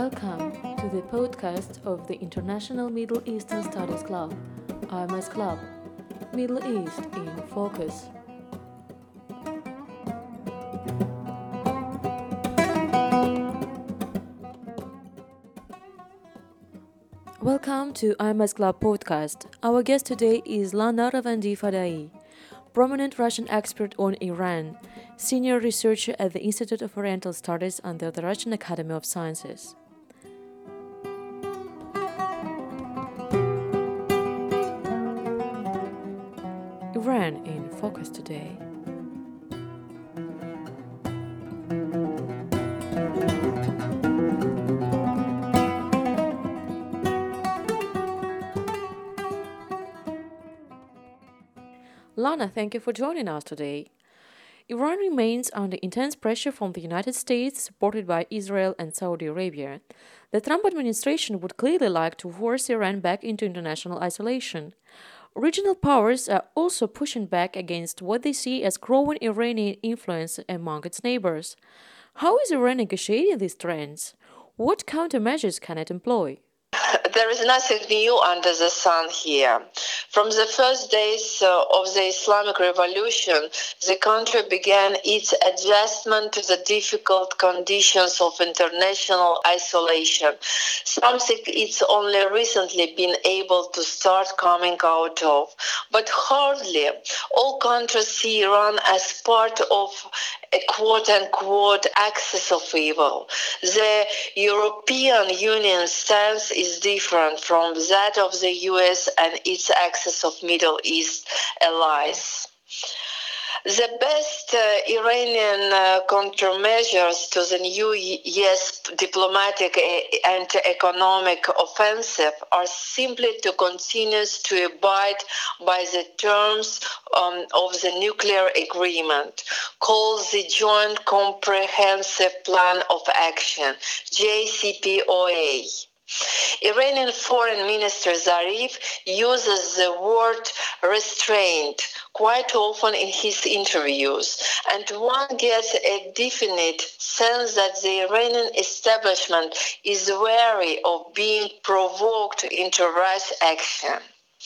Welcome to the podcast of the International Middle Eastern Studies Club, IMS Club, Middle East in Focus. Welcome to IMS Club podcast. Our guest today is Lana Ravandi Fadai, prominent Russian expert on Iran, senior researcher at the Institute of Oriental Studies under the Russian Academy of Sciences. Iran in Focus today. Lana, thank you for joining us today. Iran remains under intense pressure from the United States, supported by Israel and Saudi Arabia. The Trump administration would clearly like to force Iran back into international isolation. Regional powers are also pushing back against what they see as growing Iranian influence among its neighbors. How is Iran negotiating these trends? What countermeasures can it employ? There is nothing new under the sun here. From the first days of the Islamic Revolution, the country began its adjustment to the difficult conditions of international isolation, something it's only recently been able to start coming out of. But hardly all countries see Iran as part of a quote-unquote axis of evil. The European Union stance is different from that of the US and its axis of Middle East allies. The best Iranian countermeasures to the new US diplomatic and economic offensive are simply to continue to abide by the terms of the nuclear agreement, called the Joint Comprehensive Plan of Action, JCPOA. Iranian Foreign Minister Zarif uses the word restraint quite often in his interviews, and one gets a definite sense that the Iranian establishment is wary of being provoked into rash action.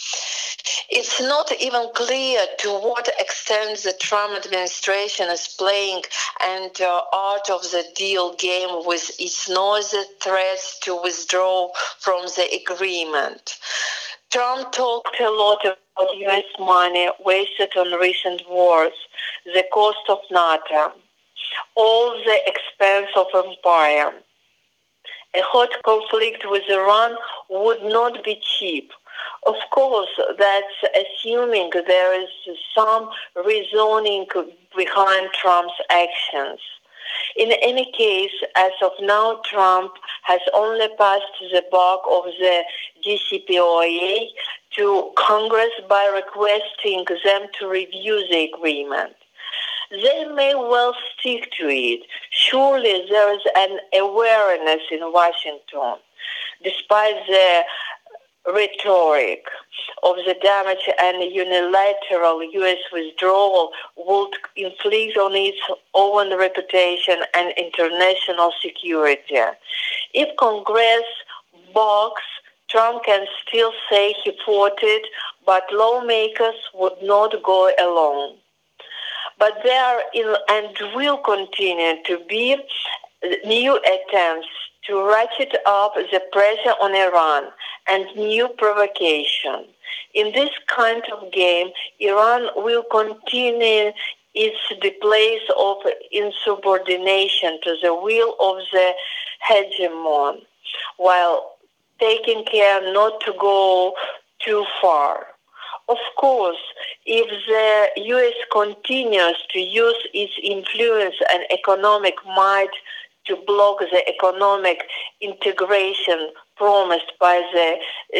It's not even clear to what extent the Trump administration is playing an art of the deal game with its noisy threats to withdraw from the agreement. Trump talked a lot about U.S. money wasted on recent wars, the cost of NATO, all the expense of empire. A hot conflict with Iran would not be cheap. Of course, that's assuming there is some reasoning behind Trump's actions. In any case, as of now, Trump has only passed the buck of the JCPOA to Congress by requesting them to review the agreement. They may well stick to it. Surely there is an awareness in Washington, despite the rhetoric of the damage and unilateral U.S. withdrawal would inflict on its own reputation and international security. If Congress balks, Trump can still say he fought it, but lawmakers would not go along. But there and will continue to be new attempts to ratchet up the pressure on Iran and new provocation. In this kind of game, Iran will continue its displays of insubordination to the will of the hegemon, while taking care not to go too far. Of course, if the U.S. continues to use its influence and economic might to block the economic integration promised by the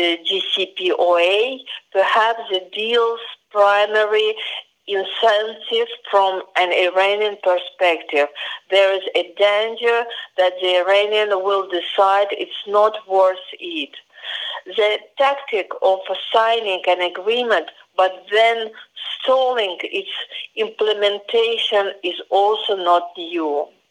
JCPOA, perhaps the deal's primary incentive from an Iranian perspective, there is a danger that the Iranian will decide it's not worth it. The tactic of signing an agreement but then stalling its implementation is also not new.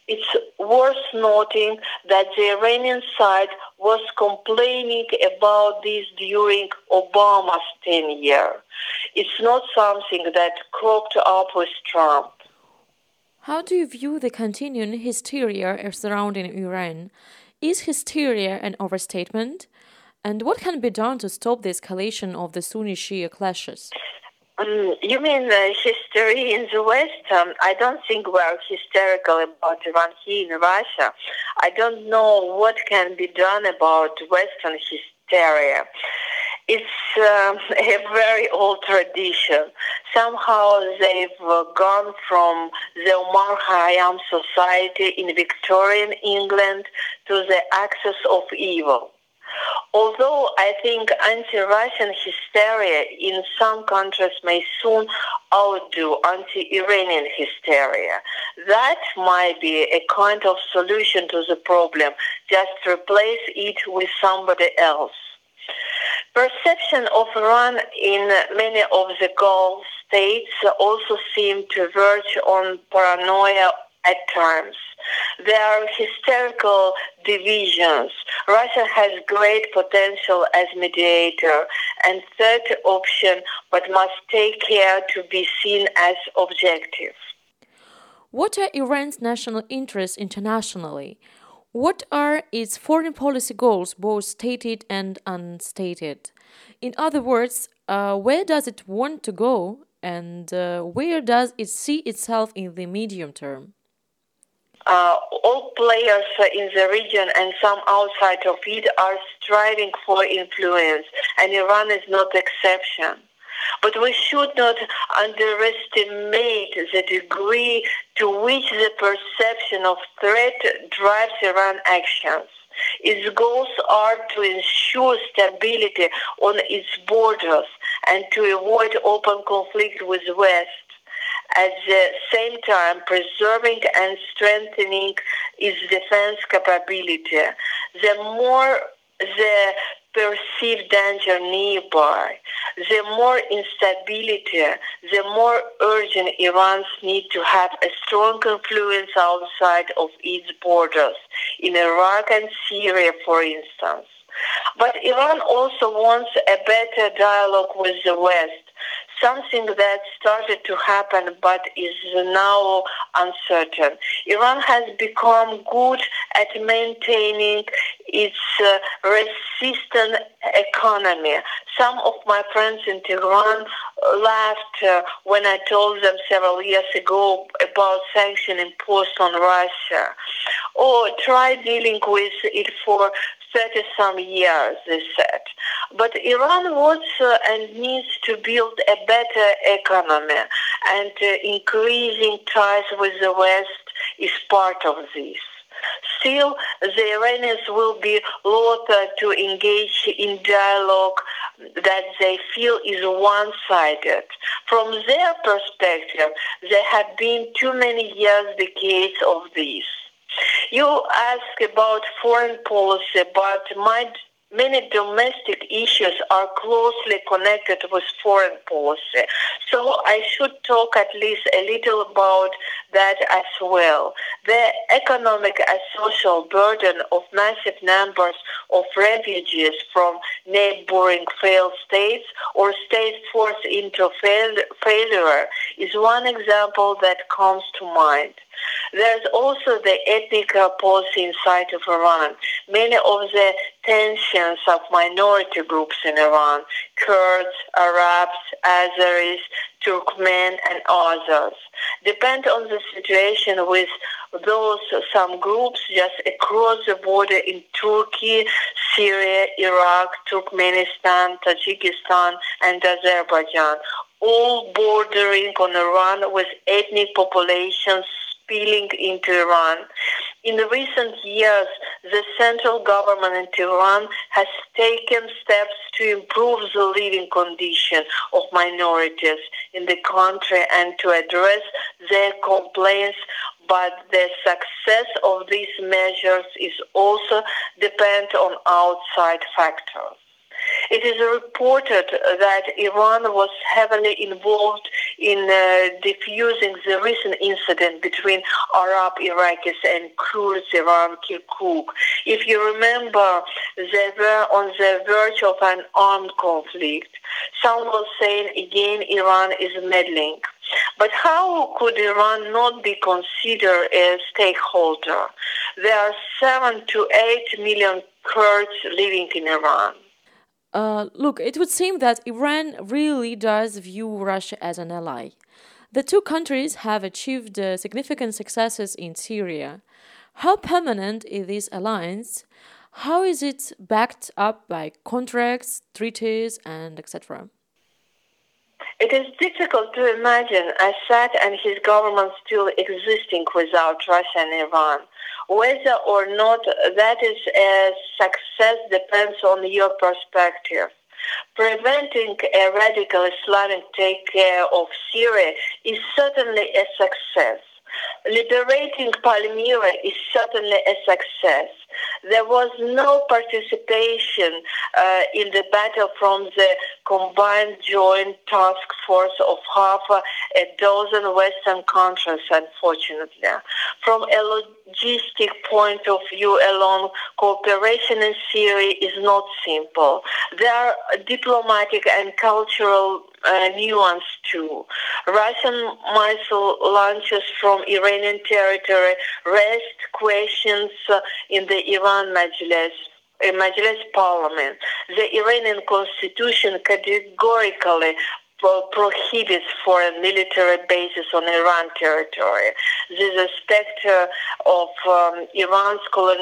It's worth noting that the Iranian side was complaining about this during Obama's tenure. It's not something that cropped up with Trump. How do you view the continuing hysteria surrounding Iran? Is hysteria an overstatement? And what can be done to stop the escalation of the Sunni-Shia clashes? You mean history in the West? I don't think we're hysterical about Iran here in Russia. I don't know what can be done about Western hysteria. It's a very old tradition. Somehow they've gone from the Omar Khayyam society in Victorian England to the axis of evil. Although I think anti-Russian hysteria in some countries may soon outdo anti-Iranian hysteria, that might be a kind of solution to the problem, just replace it with somebody else. Perception of Iran in many of the Gulf states also seem to verge on paranoia at times. There are hysterical divisions. Russia has great potential as mediator and third option, but must take care to be seen as objective. What are Iran's national interests internationally? What are its foreign policy goals, both stated and unstated? In other words, where does it want to go, and where does it see itself in the medium term? All players in the region and some outside of it are striving for influence, and Iran is not the exception. But we should not underestimate the degree to which the perception of threat drives Iran's actions. Its goals are to ensure stability on its borders and to avoid open conflict with the West. At the same time, preserving and strengthening its defense capability. The more the perceived danger nearby, the more instability, the more urgent Iran's need to have a strong influence outside of its borders, in Iraq and Syria, for instance. But Iran also wants a better dialogue with the West, something that started to happen but is now uncertain. Iran has become good at maintaining its resistant economy. Some of my friends in Tehran laughed when I told them several years ago about sanctions imposed on Russia. Oh, try dealing with it for 30-some years, they said. But Iran wants and needs to build a better economy, and increasing ties with the West is part of this. Still, the Iranians will be loath to engage in dialogue that they feel is one-sided. From their perspective, there have been too many years, decades of this. You ask about foreign policy, but many domestic issues are closely connected with foreign policy. So I should talk at least a little about that as well. The economic and social burden of massive numbers of refugees from neighboring failed states or states forced into failure is one example that comes to mind. There's also the ethnic policy inside of Iran. Many of the tensions of minority groups in Iran, Kurds, Arabs, Azeris, Turkmen, and others, depend on the situation with those some groups just across the border in Turkey, Syria, Iraq, Turkmenistan, Tajikistan, and Azerbaijan, all bordering on Iran with ethnic populations spilling into Iran. In the recent years, the central government in Tehran has taken steps to improve the living condition of minorities in the country and to address their complaints, but the success of these measures is also dependent on outside factors. It is reported that Iran was heavily involved in diffusing the recent incident between Arab Iraqis and Kurds around Kirkuk. If you remember, they were on the verge of an armed conflict. Some were saying again Iran is meddling. But how could Iran not be considered a stakeholder? There are 7 to 8 million Kurds living in Iran. Look, it would seem that Iran really does view Russia as an ally. The two countries have achieved significant successes in Syria. How permanent is this alliance? How is it backed up by contracts, treaties, and etc.? It is difficult to imagine Assad and his government still existing without Russia and Iran. Whether or not that is a success depends on your perspective. Preventing a radical Islamic takeover of Syria is certainly a success. Liberating Palmyra is certainly a success. There was no participation in the battle from the combined joint task force of half a dozen Western countries, unfortunately. From a logistic point of view alone, cooperation in Syria is not simple. There are diplomatic and cultural nuance too. Russian missile launches from Iranian territory raised questions in the Iran Majlis parliament. The Iranian constitution categorically prohibits foreign military bases on Iran territory. This is specter of Iran's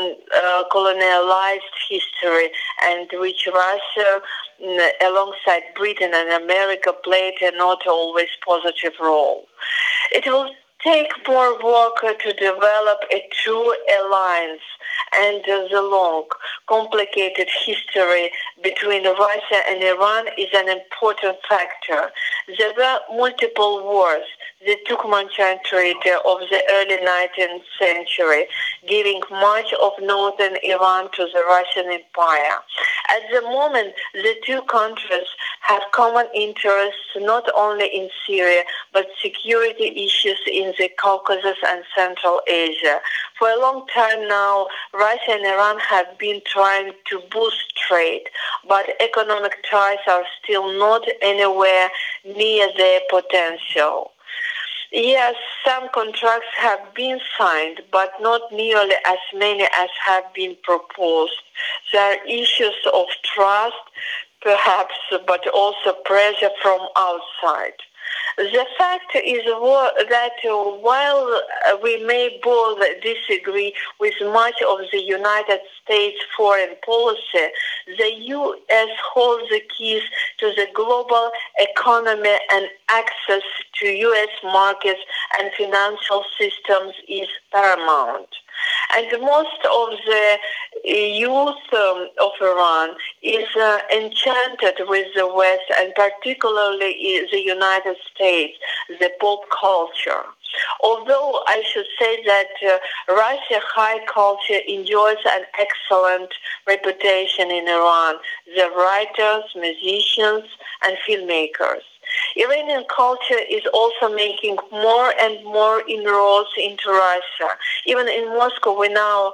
colonialized history, and which Russia, alongside Britain and America, played a not always positive role. It will take more work to develop a true alliance, and the long, complicated history between Russia and Iran is an important factor. There were multiple wars, the Turkmenistan Treaty of the early 19th century, giving much of northern Iran to the Russian Empire. At the moment, the two countries have common interests not only in Syria, but security issues in the Caucasus and Central Asia. For a long time now, Russia and Iran have been trying to boost trade, but economic ties are still not anywhere near their potential. Yes, some contracts have been signed, but not nearly as many as have been proposed. There are issues of trust, perhaps, but also pressure from outside. The fact is that while we may both disagree with much of the United States foreign policy, the U.S. holds the keys to the global economy, and access to U.S. markets and financial systems is paramount. And most of the youth of Iran is enchanted with the West, and particularly the United States, the pop culture. Although I should say that Russian high culture enjoys an excellent reputation in Iran, the writers, musicians, and filmmakers. Iranian culture is also making more and more inroads into Russia. Even in Moscow, we now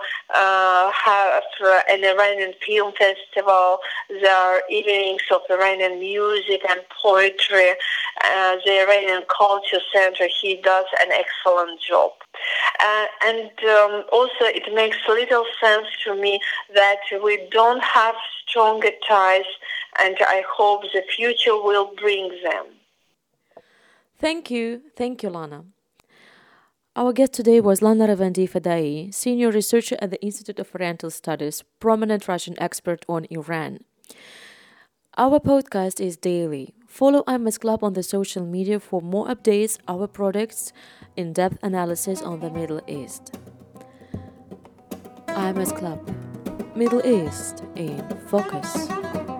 have an Iranian film festival. There are evenings of Iranian music and poetry. The Iranian Culture Center, he does an excellent job. Also, it makes little sense to me that we don't have stronger ties, and I hope the future will bring them. Thank you, Lana. Our guest today was Lana Ravandi Fadai, senior researcher at the Institute of Oriental Studies, prominent Russian expert on Iran. Our podcast is daily. Follow IMS Club on the social media for more updates, our products, in-depth analysis on the Middle East. IMS Club, Middle East in Focus.